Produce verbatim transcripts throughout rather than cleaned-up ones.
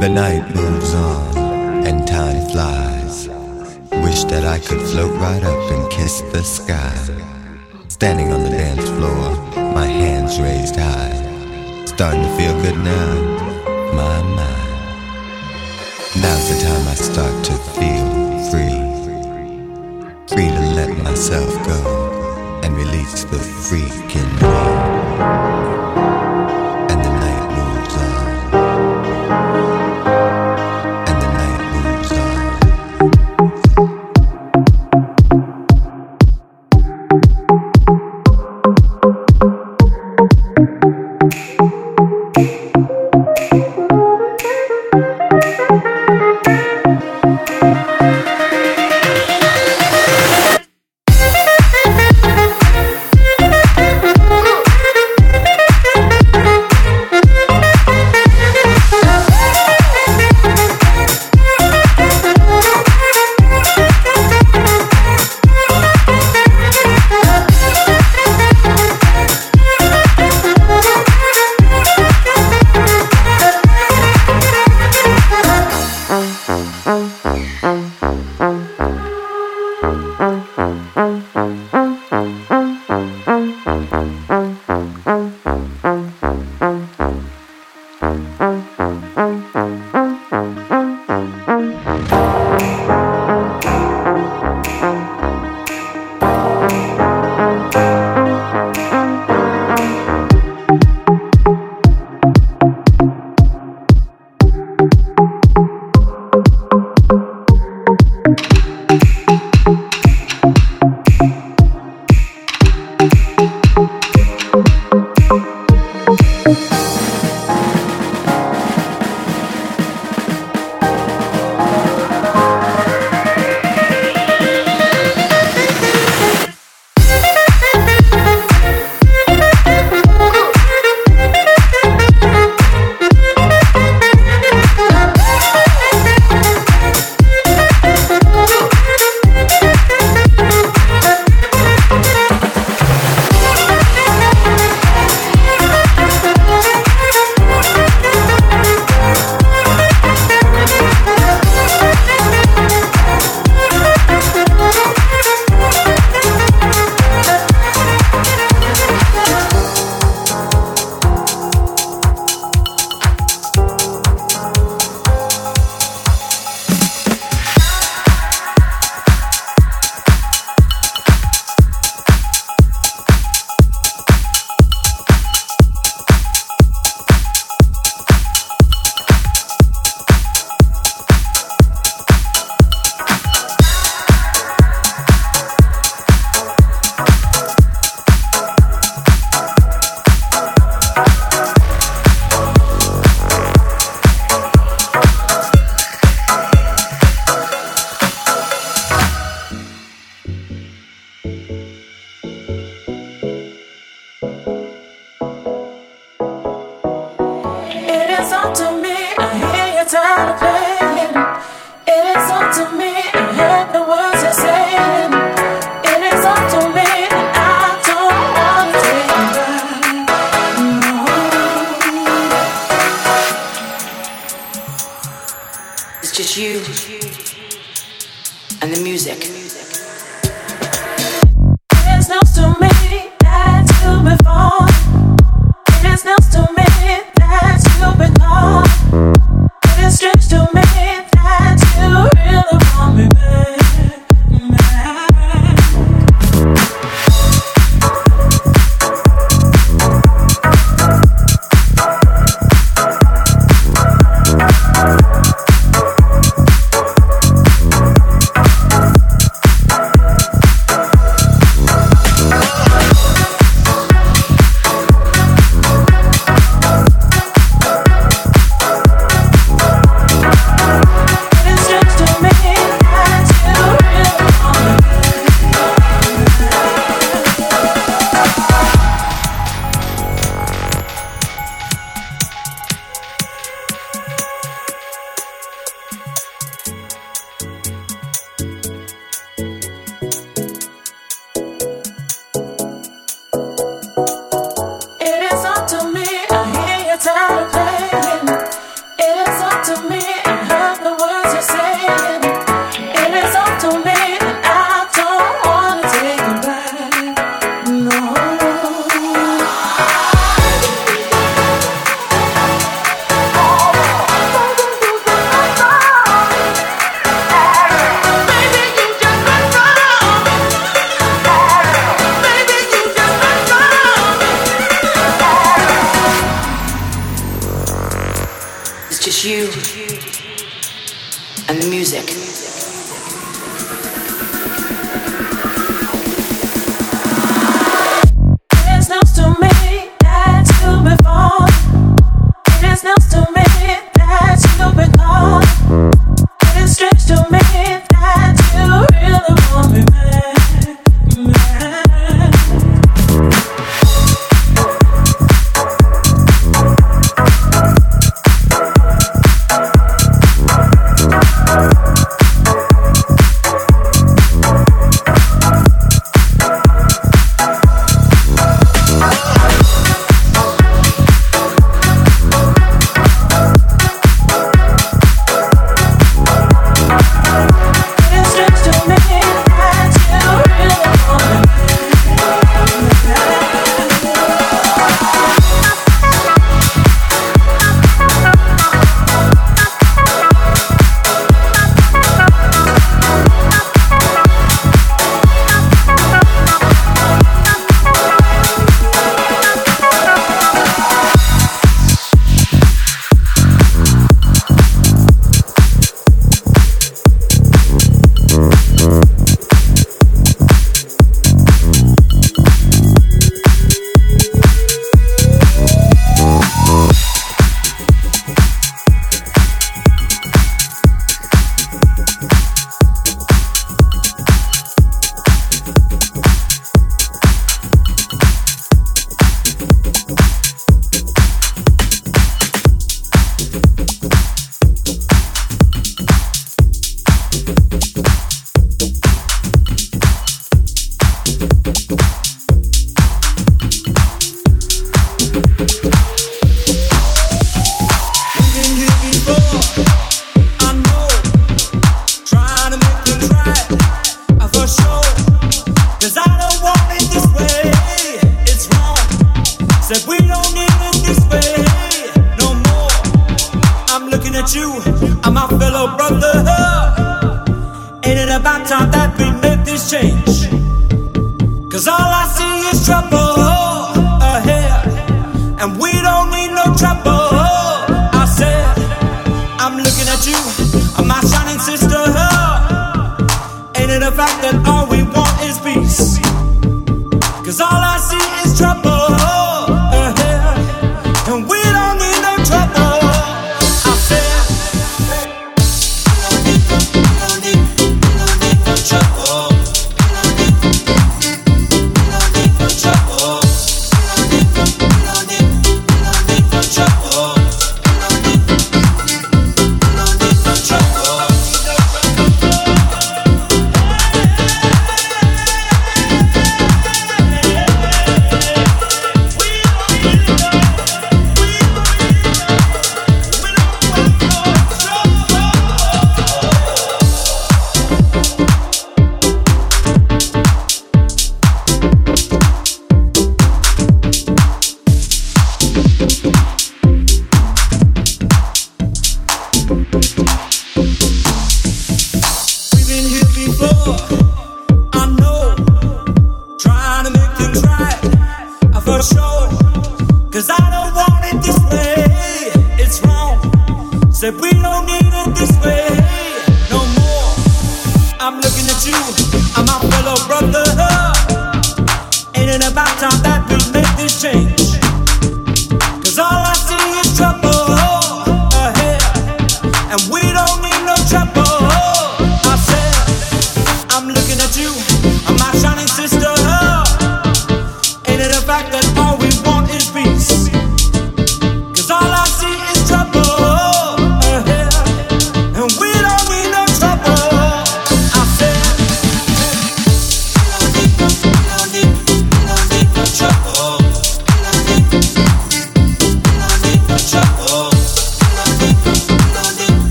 The night moves on and time flies. Wish that I could float right up and kiss the sky. Standing on the dance floor, my hands raised high. Starting to feel good now, my mind. Now's the time I start to feel free. Free to let myself go and release the freak in me. And the night moves on. And the night moves on.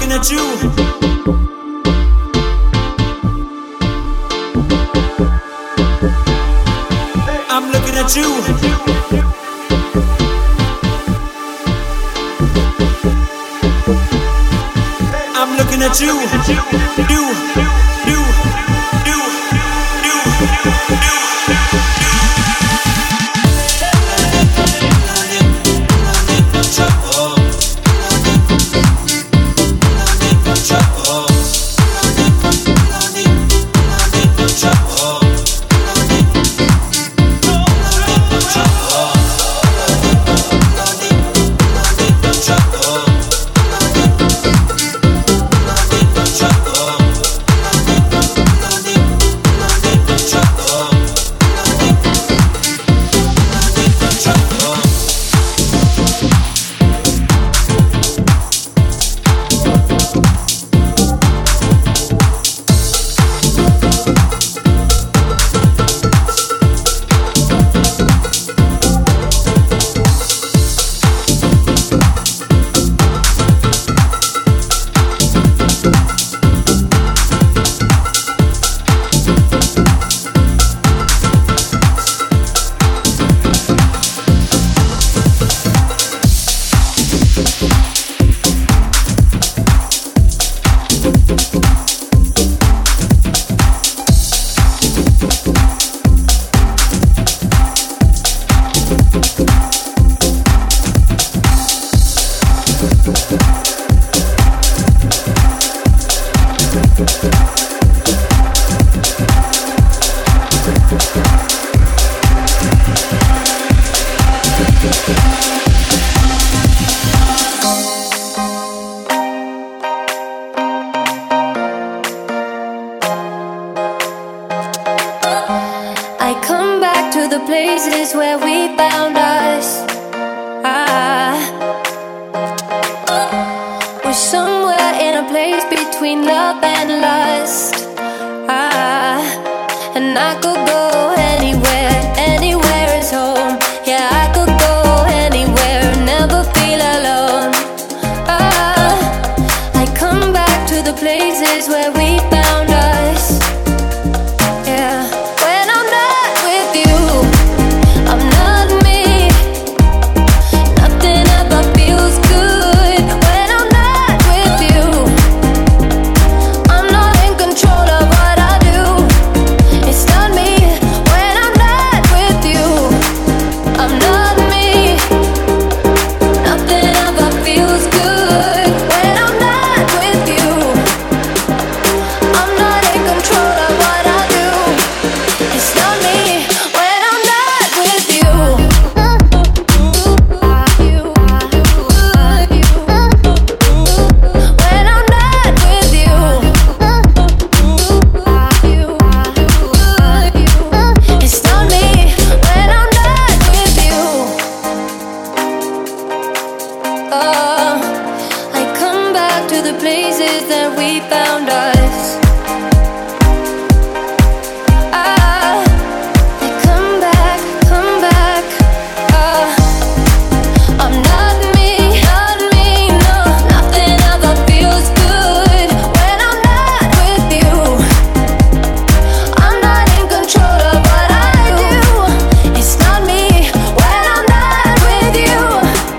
looking at you. I'm looking at you. I'm looking at you. You, you, you, you, you, you.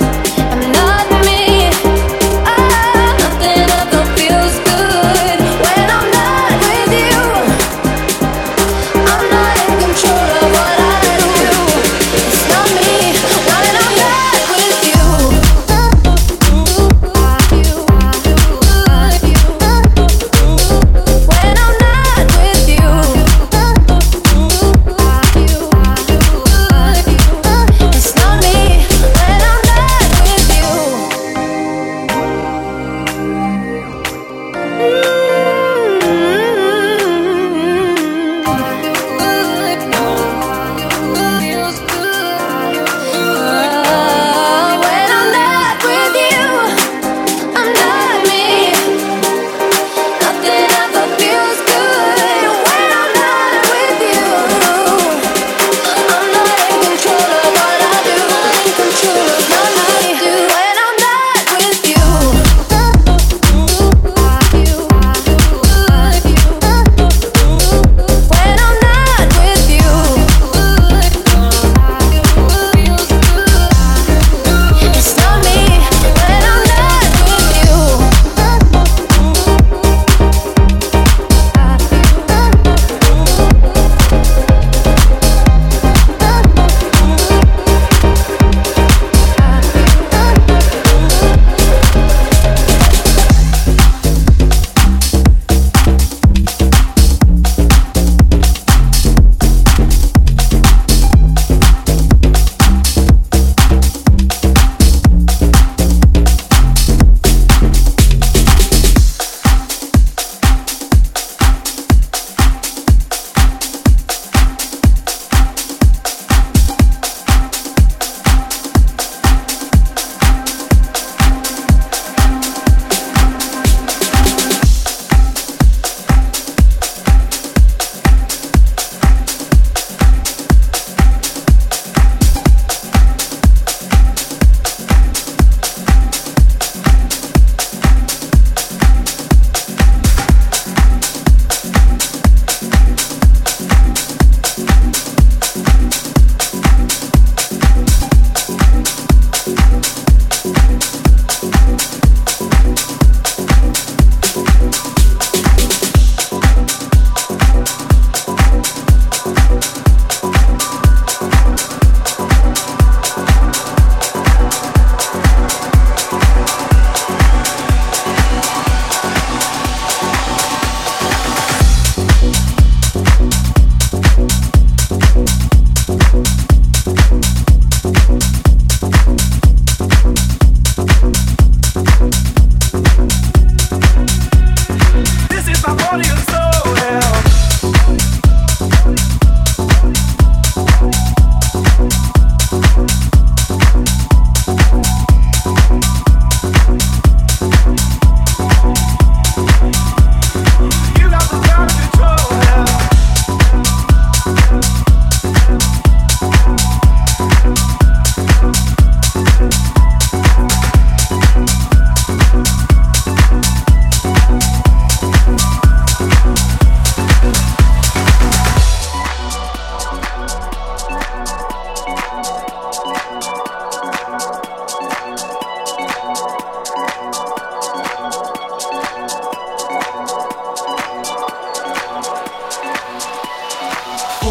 When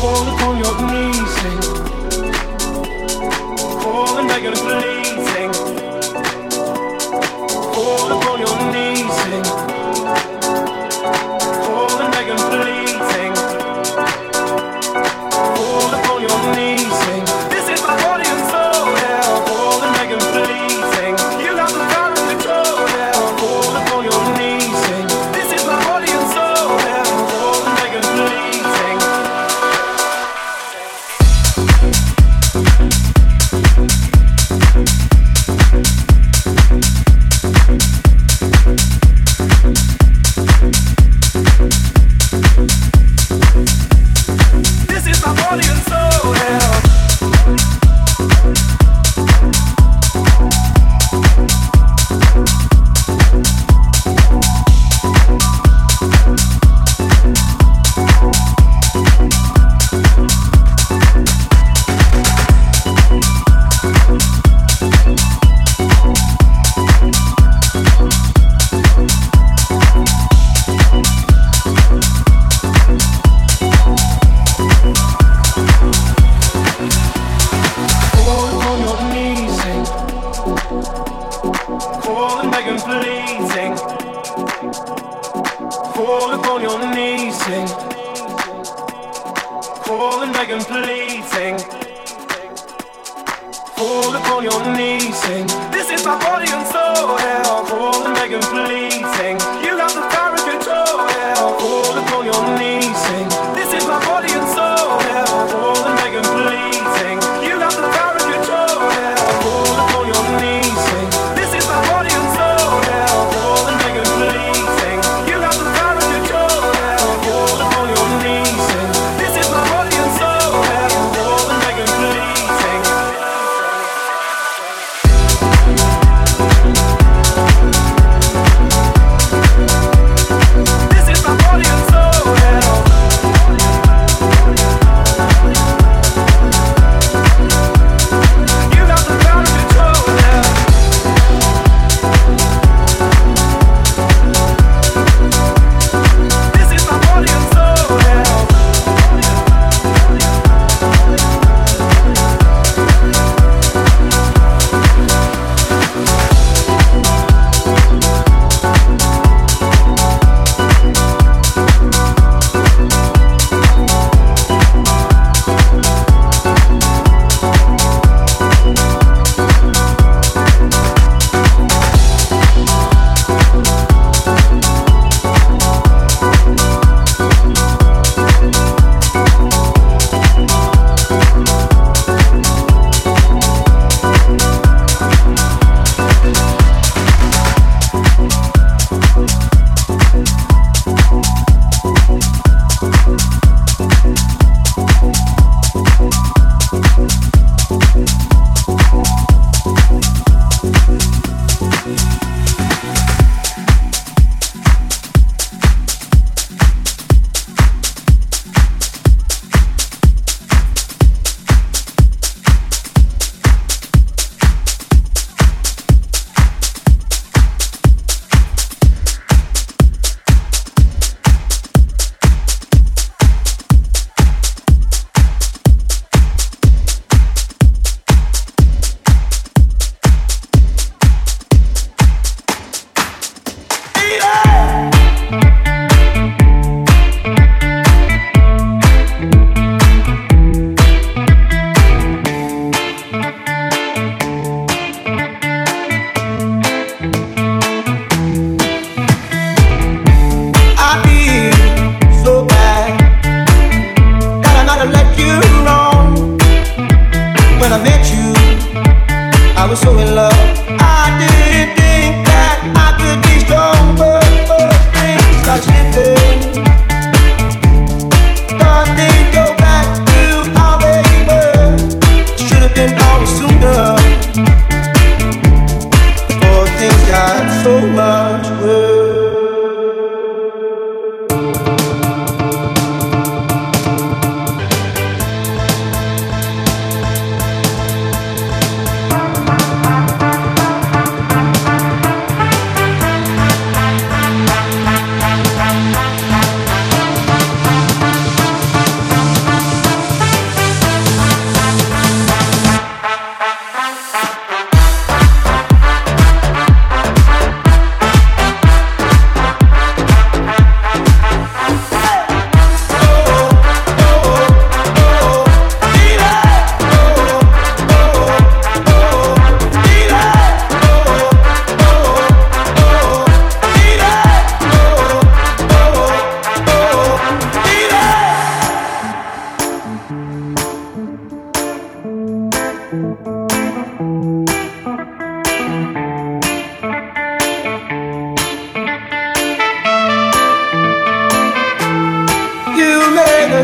Fall upon your knees, sing. Fall and beg and please, sing. Fall upon your knees, sing. Fall and beg and please, sing. Fall upon your knees, sing. This is my body and soul, yeah. Fall and beg and please, sing. You got the power and control, yeah. Fall upon your knees, sing. This is my body and soul, yeah. Fall and beg and please, sing. This is my body and soul, yeah. Fall upon your knees, sing. Fall and beg and please, sing. Fall upon your knees, sing. Fall and beg and please, sing. Fall upon your knees, sing. This is my body and soul, yeah. Fall and beg and please, sing. You got the power and control, yeah. Fall upon your knees, sing. This is my body and soul, yeah. Fall and beg and please, sing. You got the power and control, yeah. Fall upon your knees, sing. This is my body and soul, yeah. Fall and beg and please, sing. You got the power and control, yeah. Fall upon your knees, sing. This is my body and soul, yeah. Fall and beg and please, sing.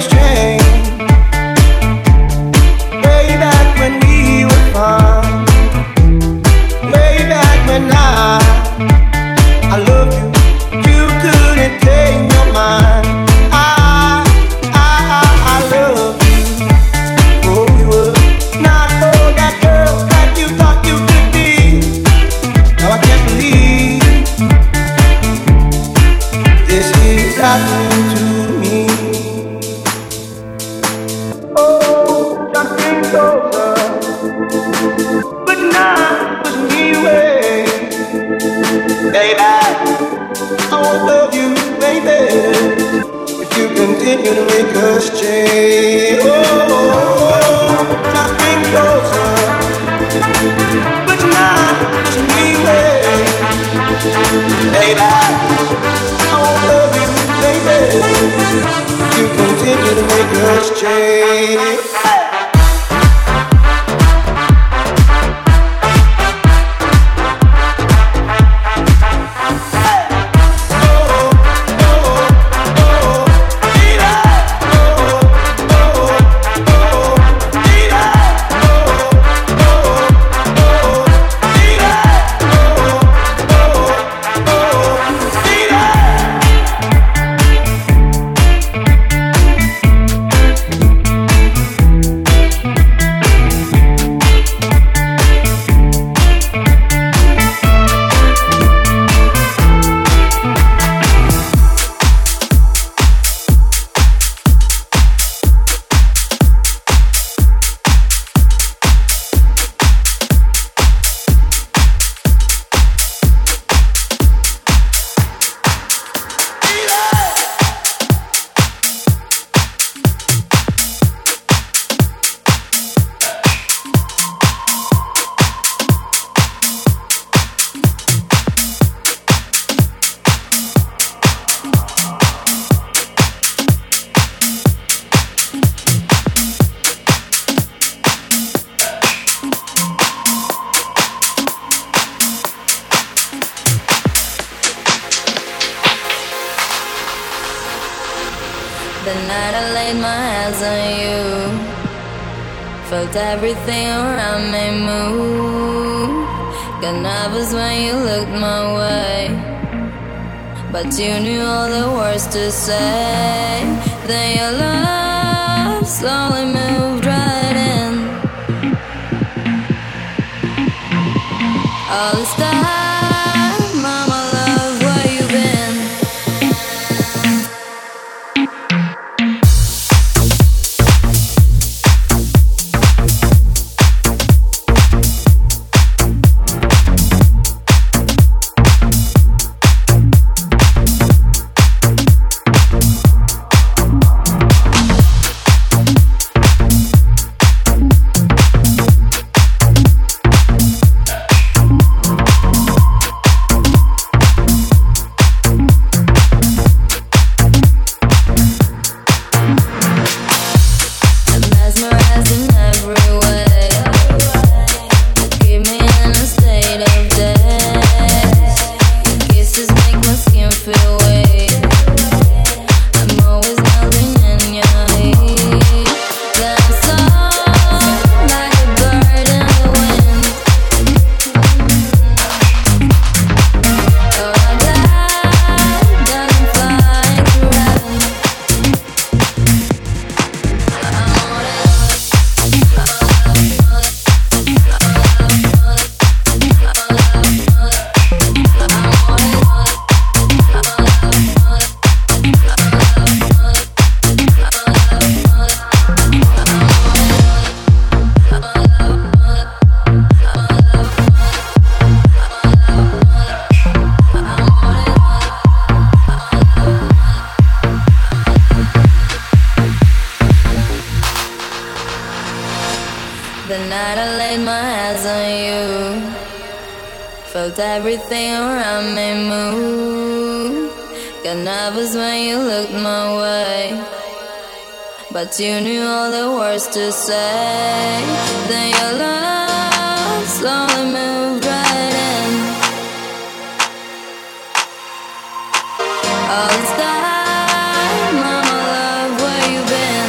exchange. Way back when we were fun. Way back when I, I loved you. You couldn't take your mind. I, I, I, I love you. Oh, you were not for that girl that you thought you could be. Now I can't believe this is happening to me. Oh, something closer, but not with me way. Baby, I won't love you, baby, if you continue to make us change. Oh, something closer, but not with me way. Baby, I won't love you, baby, if you continue to make us change. The night I laid my hands on you, felt everything around me move. Got nervous when you looked my way, but you knew all the words to say. Then your love slowly moved right in. All this time, mama, love, where you been? The night I laid my hands on you, felt everything around me move. Got nervous when you looked my way, but you knew all the words to say. Then your love slowly moved right in. All this time, mama, love, where you been?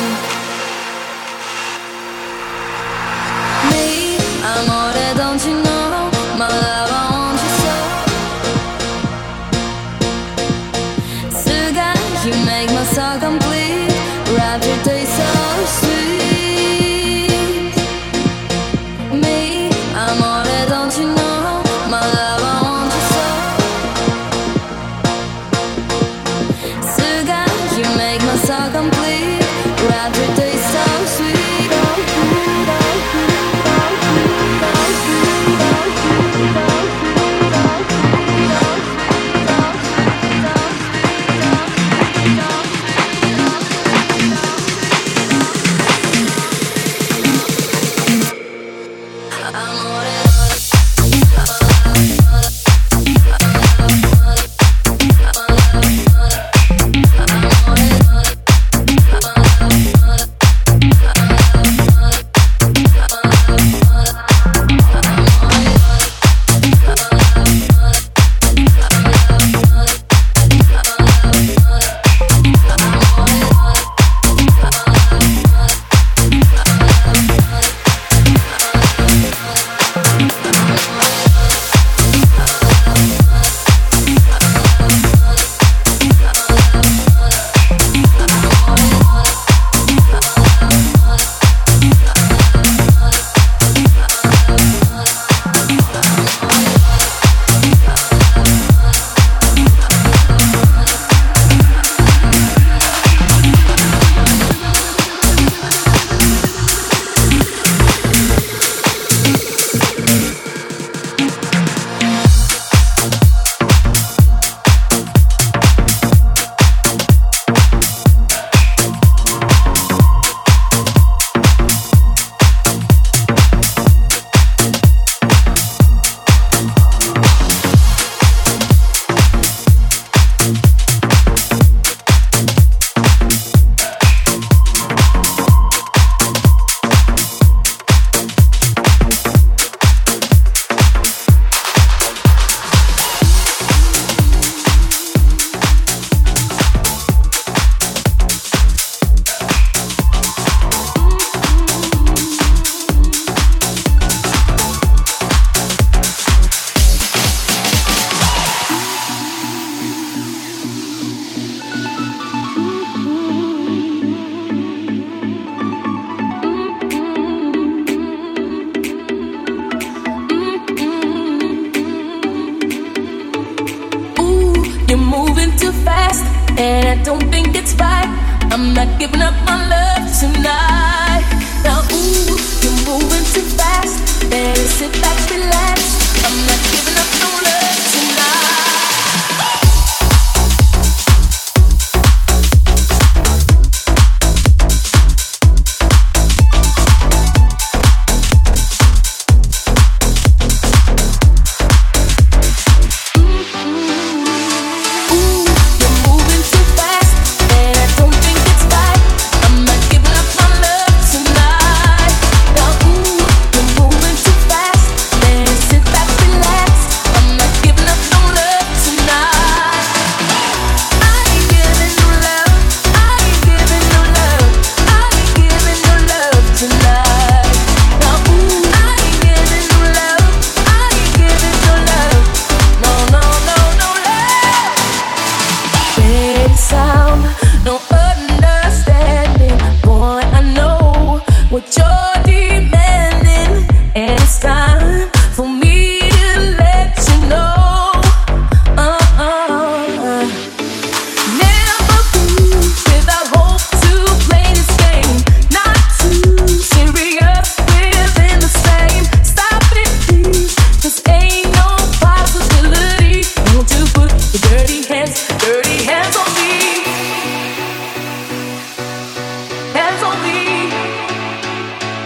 Hands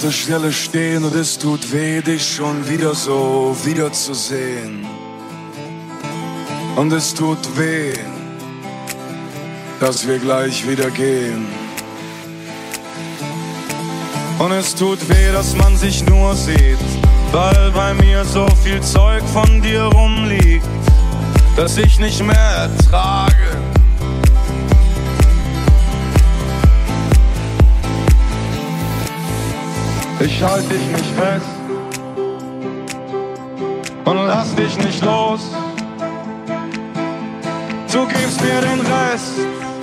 der Stelle stehen und es tut weh, dich schon wieder so wiederzusehen. Und es tut weh, dass wir gleich wieder gehen. Und es tut weh, dass man sich nur sieht, weil bei mir so viel Zeug von dir rumliegt, das ich nicht mehr ertrage. Ich halte dich nicht fest und lass dich nicht los. Du gibst mir den Rest,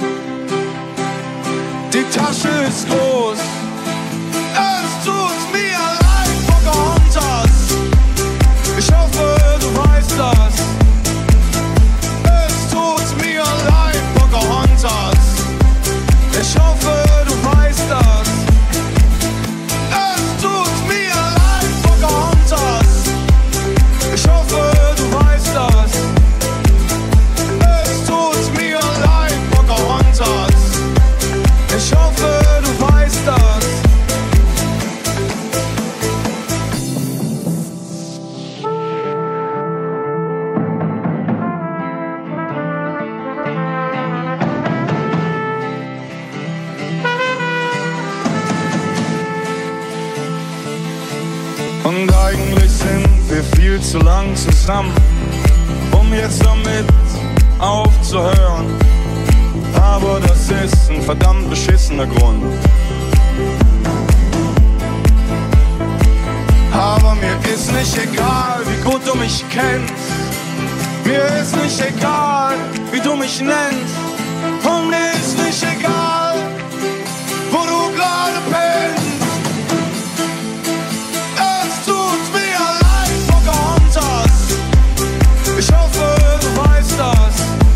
die Tasche ist groß. Es tut mir leid, Pocahontas. Ich hoffe, du weißt das. Es tut mir leid, Pocahontas. Ich hoffe, du weißt das. Es tut mir leid, Pocahontas. Ich hoffe, du weißt das. Es tut mir leid, Pocahontas. Ich hoffe, du weißt das. Und eigentlich sind wir viel zu lang zusammen, um jetzt damit aufzuhören. Aber das ist ein verdammt beschissener Grund. Aber mir ist nicht egal, wie gut du mich kennst. Mir ist nicht egal, wie du mich nennst. Und mir ist nicht egal, wo du gerade bist. Es tut mir leid, Pocahontas. Ich hoffe, du weißt das.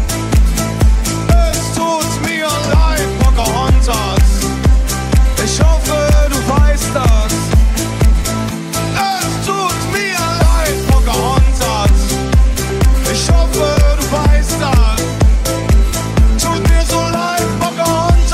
Es tut mir leid, Pocahontas. Ich hoffe, du weißt das. Es tut mir leid, Pocahontas. Ich hoffe, du weißt das. Tut mir so leid, Pocahontas.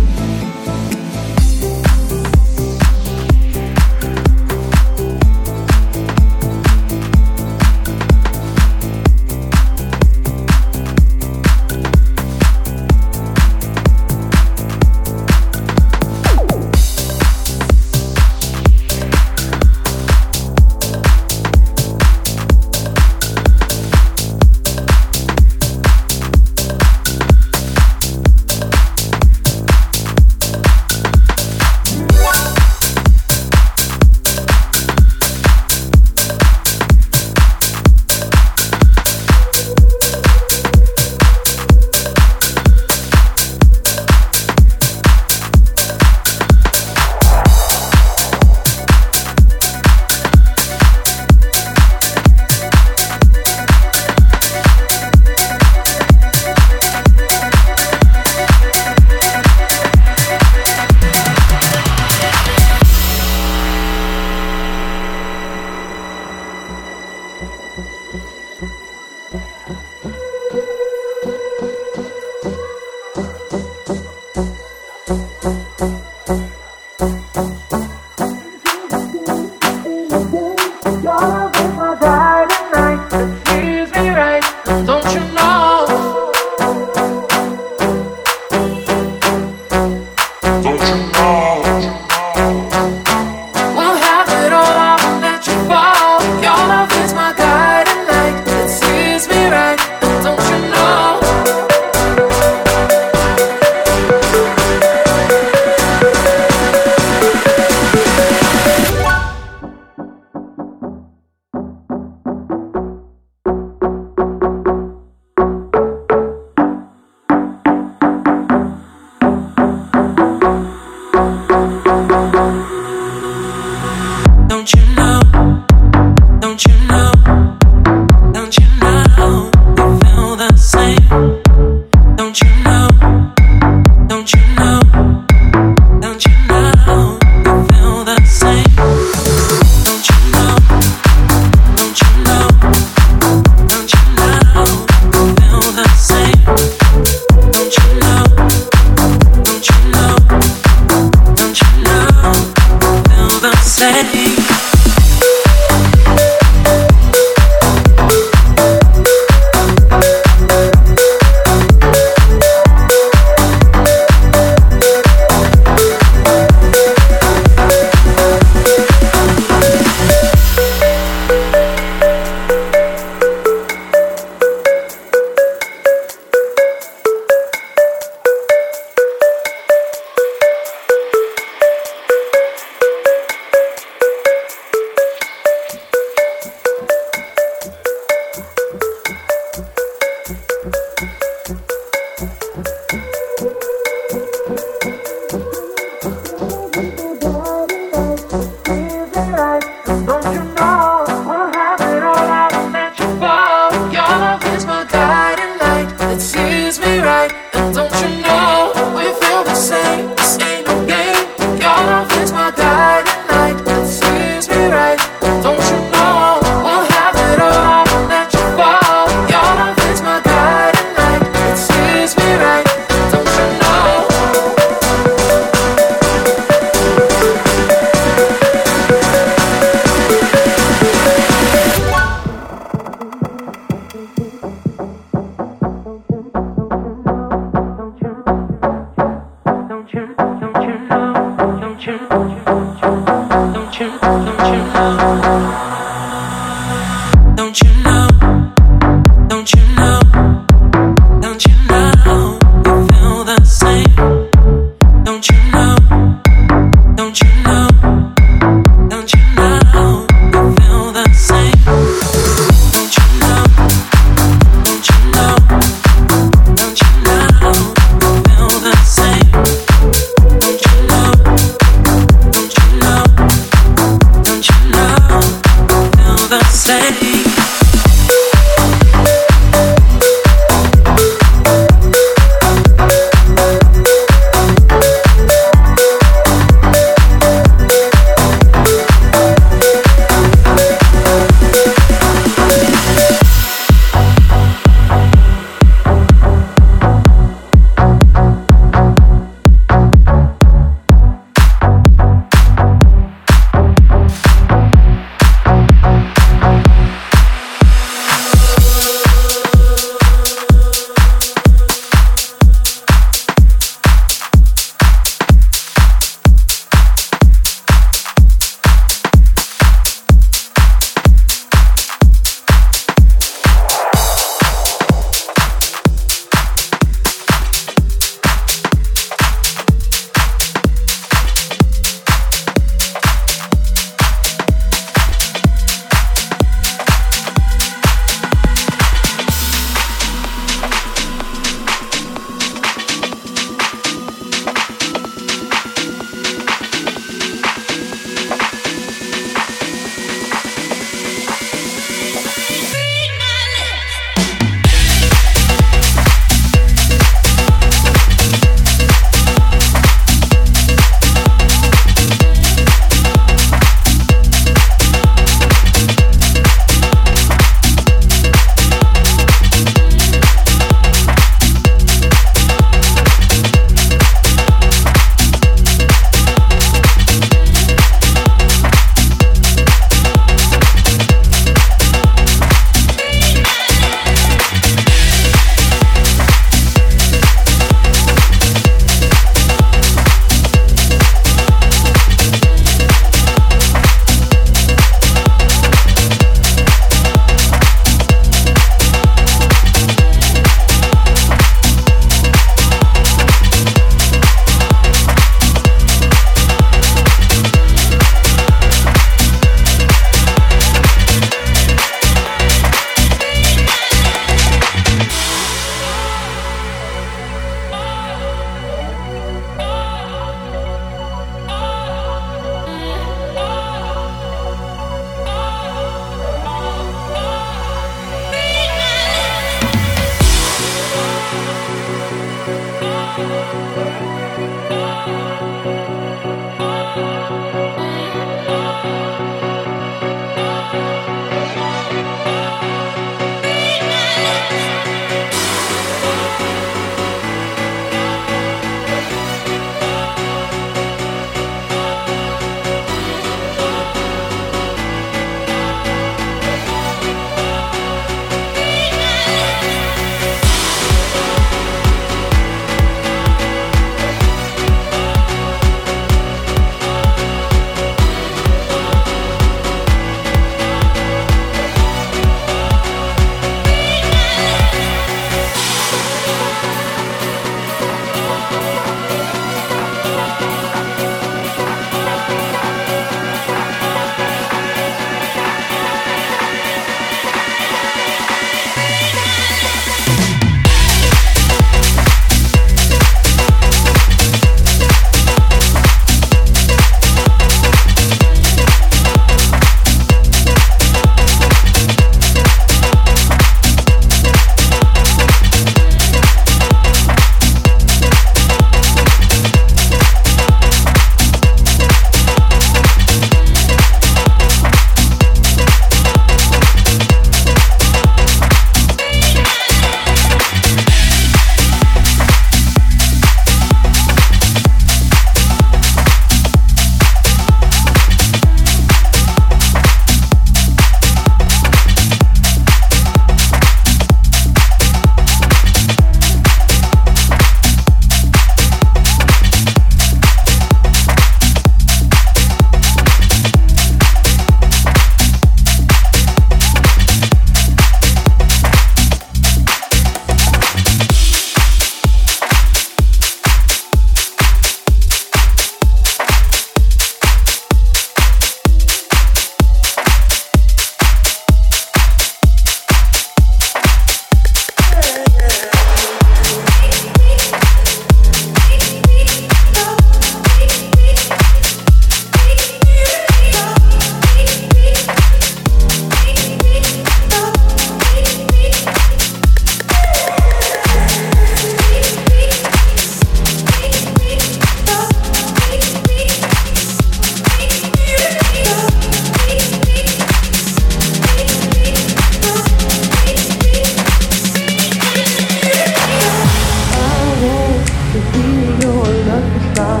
to be your lucky star.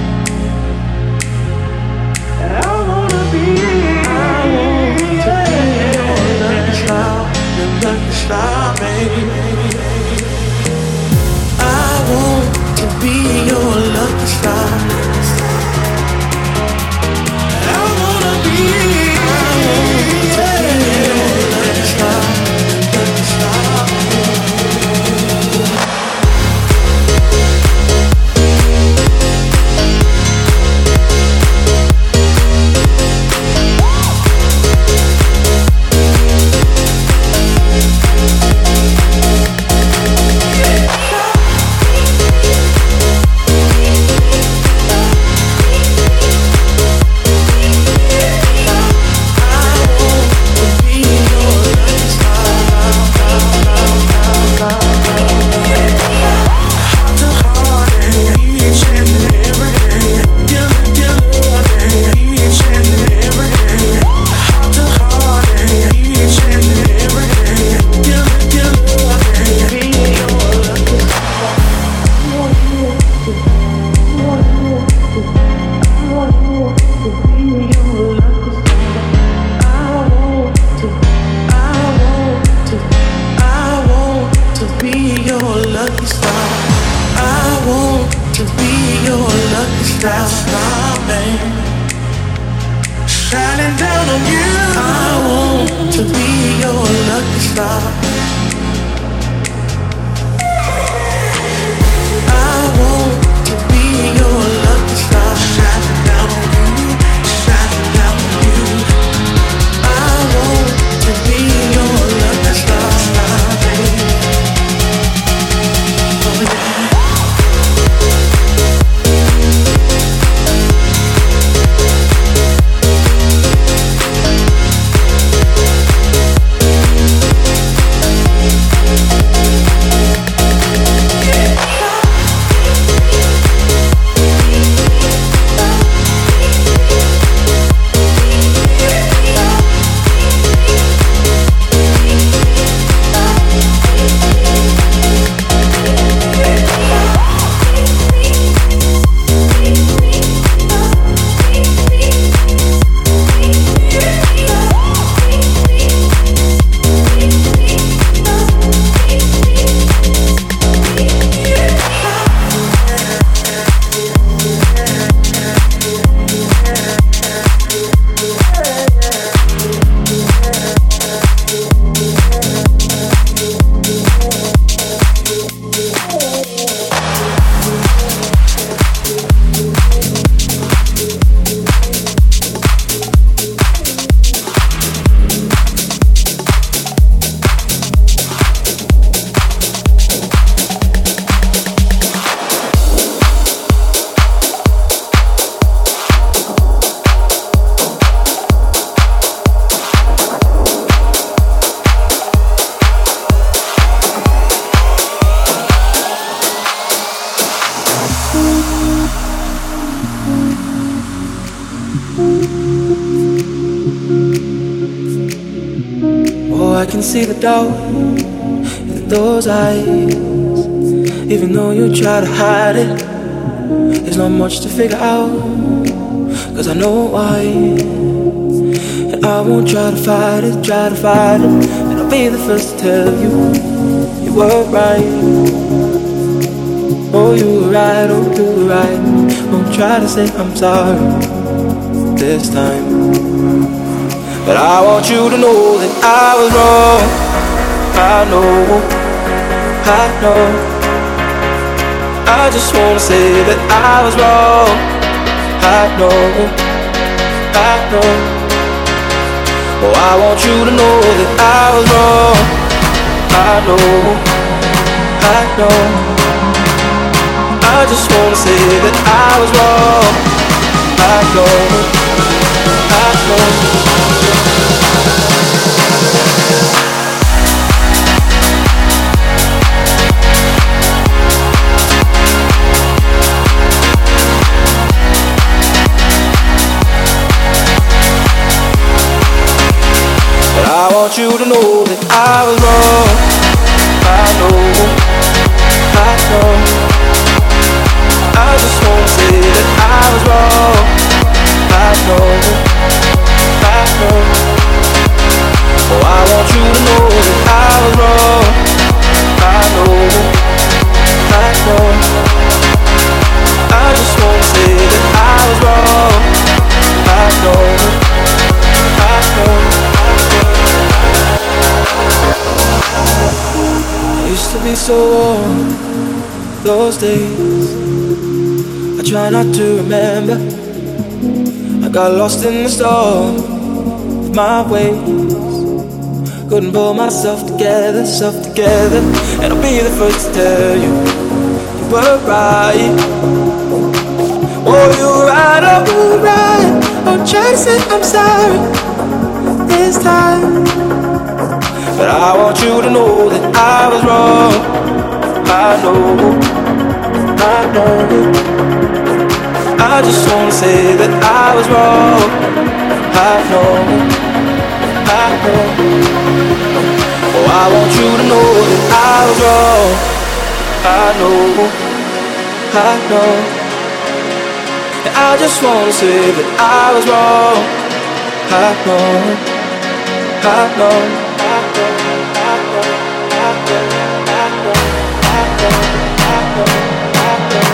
I wanna be, I want to be your lucky star, your lucky star, baby. I want to be your lucky star. I wanna be, I want to be your lucky star, your lucky star, baby. See the doubt in those eyes. Even though you try to hide it, there's not much to figure out, cause I know why. And I won't try to fight it, try to fight it. And I'll be the first to tell you, you were right. Oh, you were right, oh, you were right. Won't try to say I'm sorry this time, but I want you to know that I was wrong. I know, I know. I just wanna say that I was wrong. I know, I know. Oh, I want you to know that I was wrong. I know, I know. I just wanna say that I was wrong. I know, I know. want you to know that I was wrong. I know, I know. so warm those days. I try not to remember. I got lost in the storm of my ways. Couldn't pull myself together, self together. And I'll be the first to tell you, you were right. Oh, you were right, oh, you were right. I'll try to say I'm sorry this time, but I want you to know that I was wrong. I know, I know. I just wanna say that I was wrong. I know, I know. Oh, I want you to know that I was wrong. I know, I know. And I just wanna say that I was wrong. I know, I know, I know, I know, I know, I know, I know, I know, I know,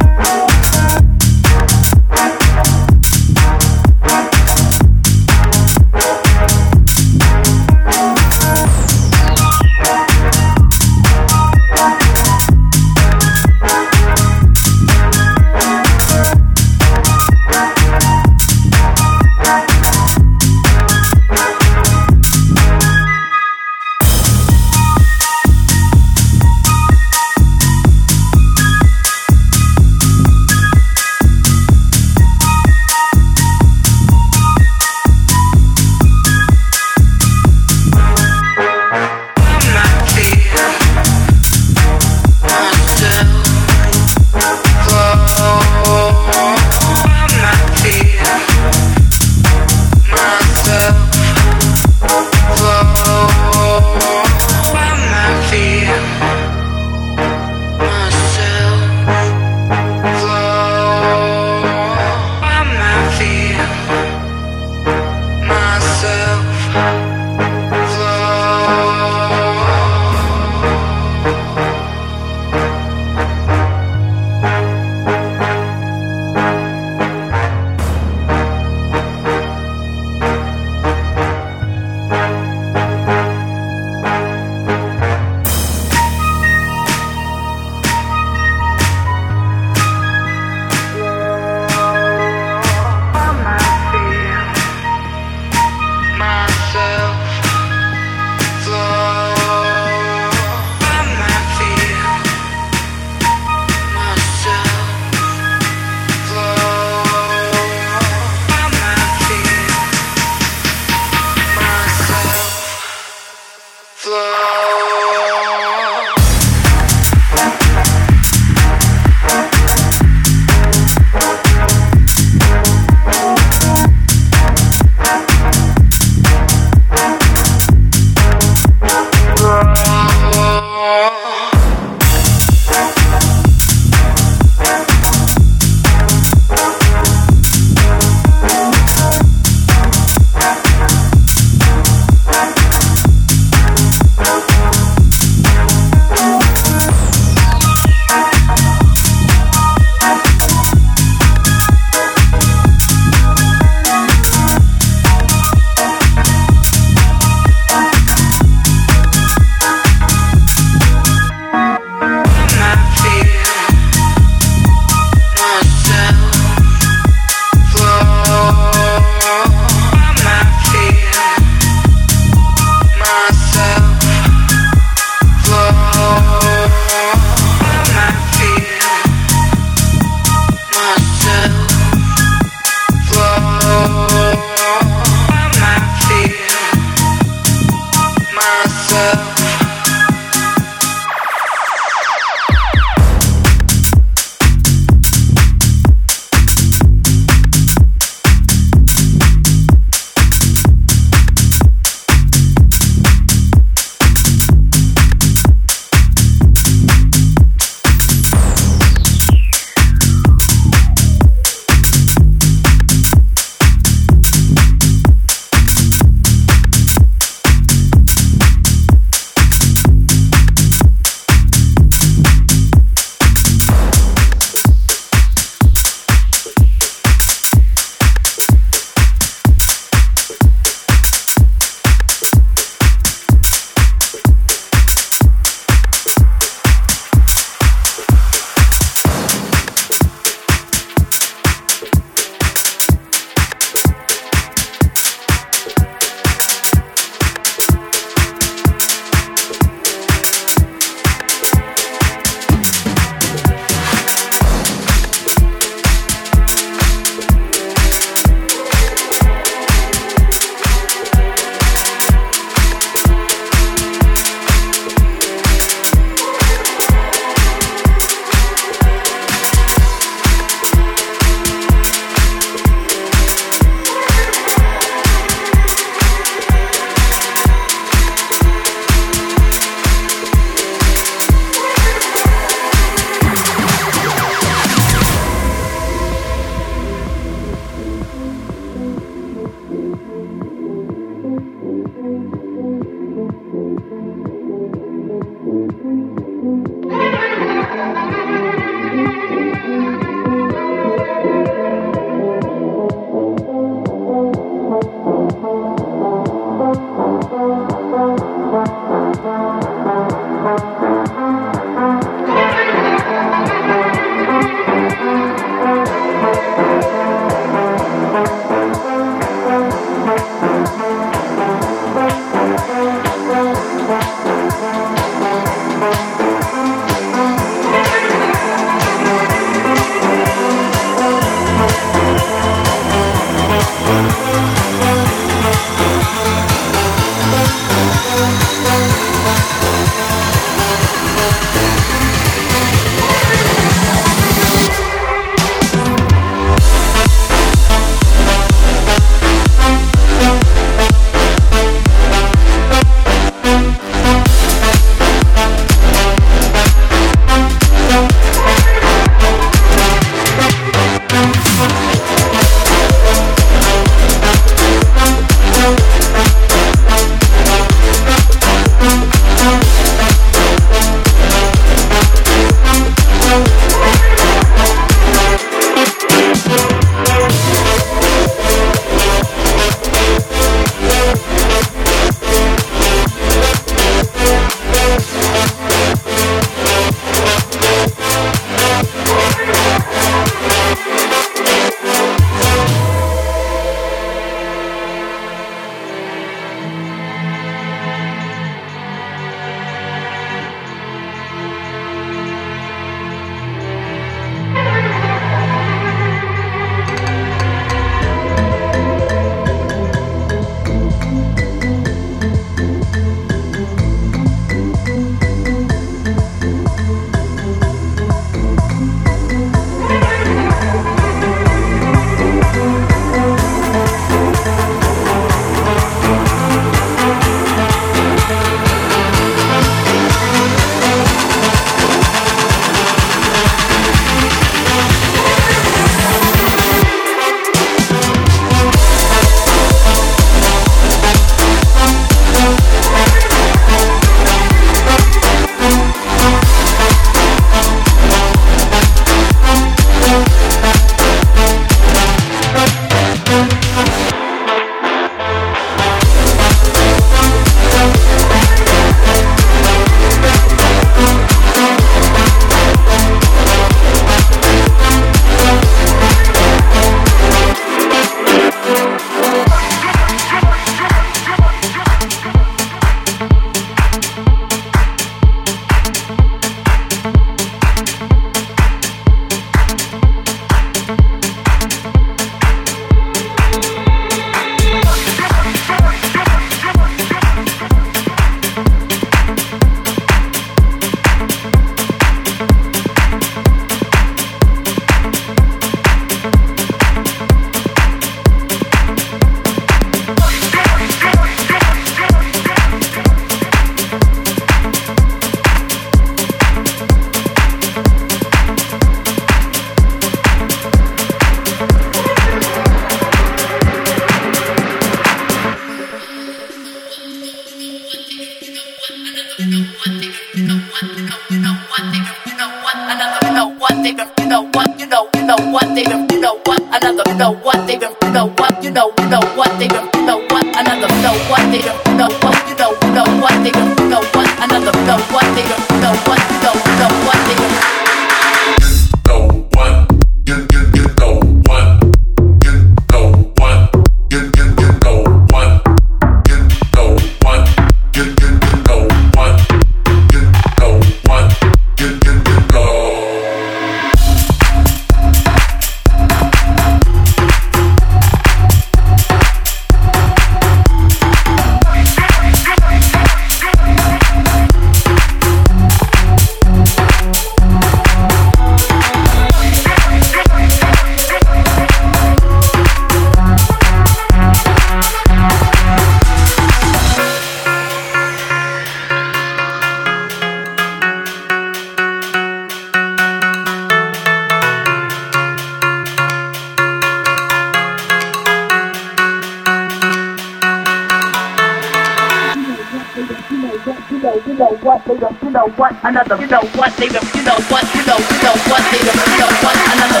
Another, you know what, they don't, you know what, you know, you know what, they don't, you know what, another.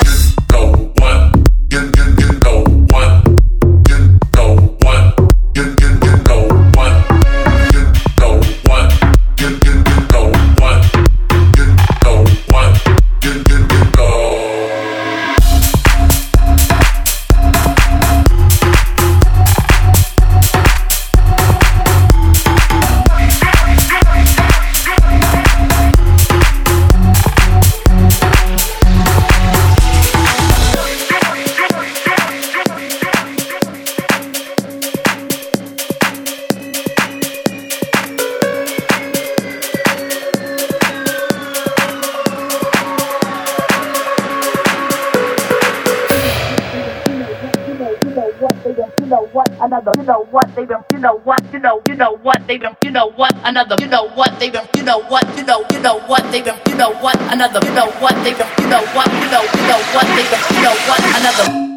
Another, you know what, they don't, you know what, you know, you know what, they don't, you know what, another, you know what, they don't, you know what, you know, you know what, they don't, you know what, another, you know what, they don't, you know what, you know, you know what, they don't, you know what, another.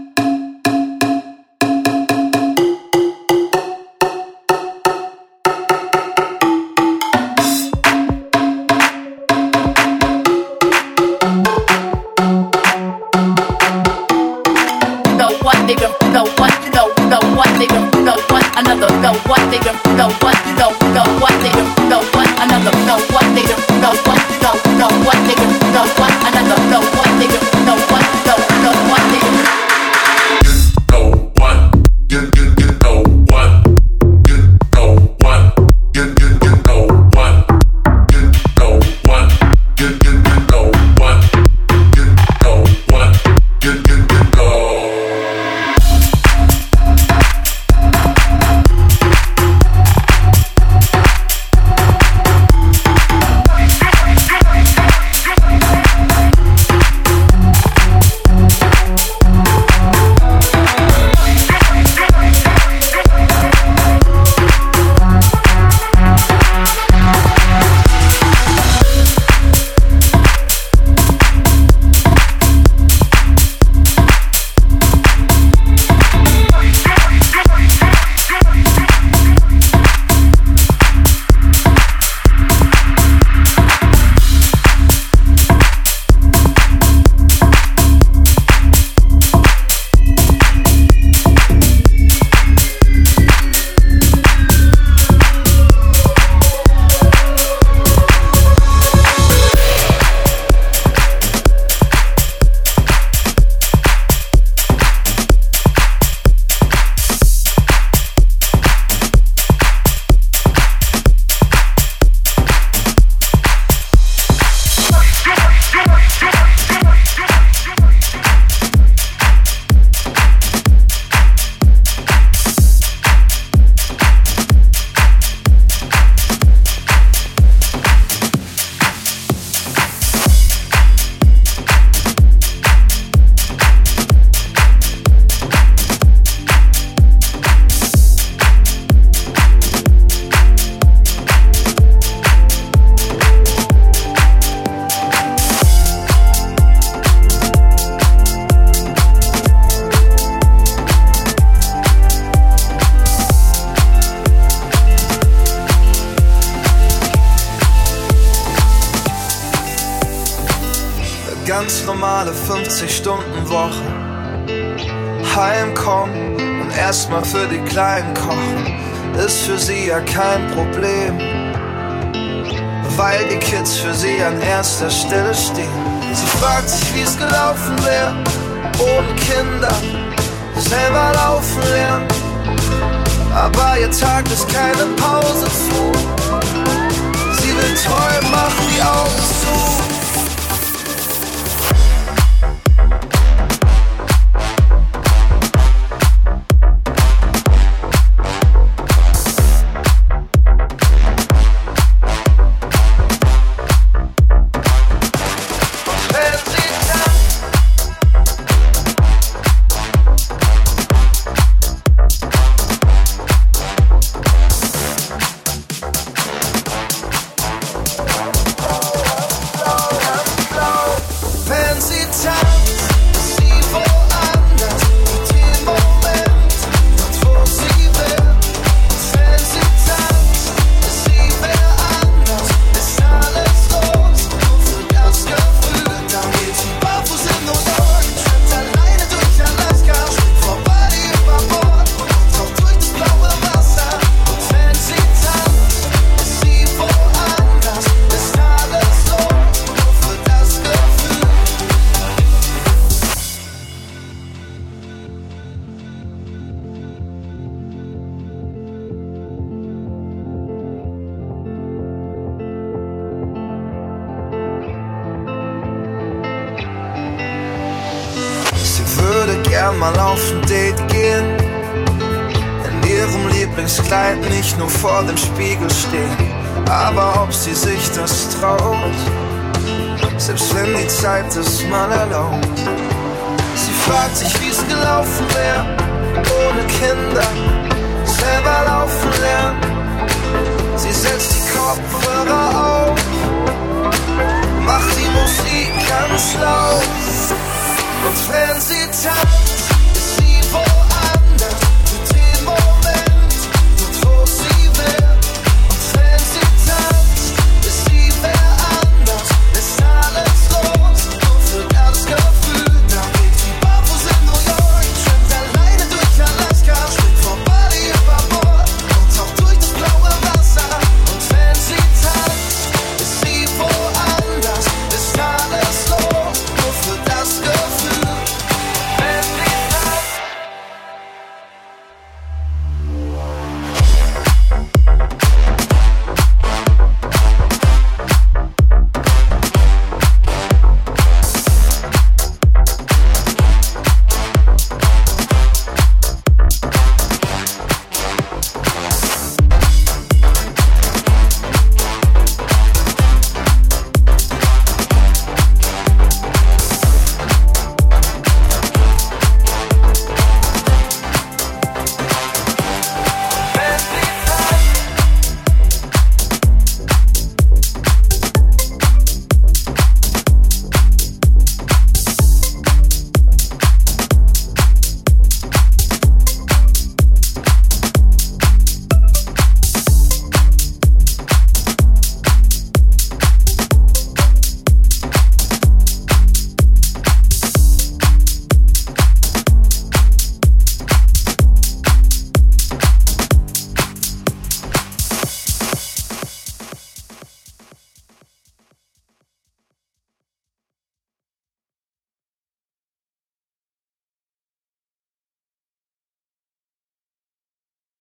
ganz normale fünfzig-Stunden-Woche. Heimkommen und erstmal für die Kleinen kochen, ist für sie ja kein Problem, weil die Kids für sie an erster Stelle stehen. Sie fragt sich, wie es gelaufen wäre, ohne Kinder, selber laufen lernen. Aber ihr Tag ist keine Pause zu. Sie will träumen, machen die Augen zu. Mal auf ein Date gehen, in ihrem Lieblingskleid nicht nur vor dem Spiegel stehen. Aber ob sie sich das traut, selbst wenn die Zeit es mal erlaubt. Sie fragt sich, wie es gelaufen wäre, ohne Kinder, selber laufen lernen.